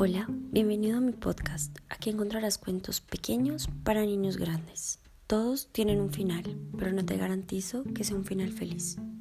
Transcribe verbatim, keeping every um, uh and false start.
Hola, bienvenido a mi podcast. Aquí encontrarás cuentos pequeños para niños grandes. Todos tienen un final, pero no te garantizo que sea un final feliz.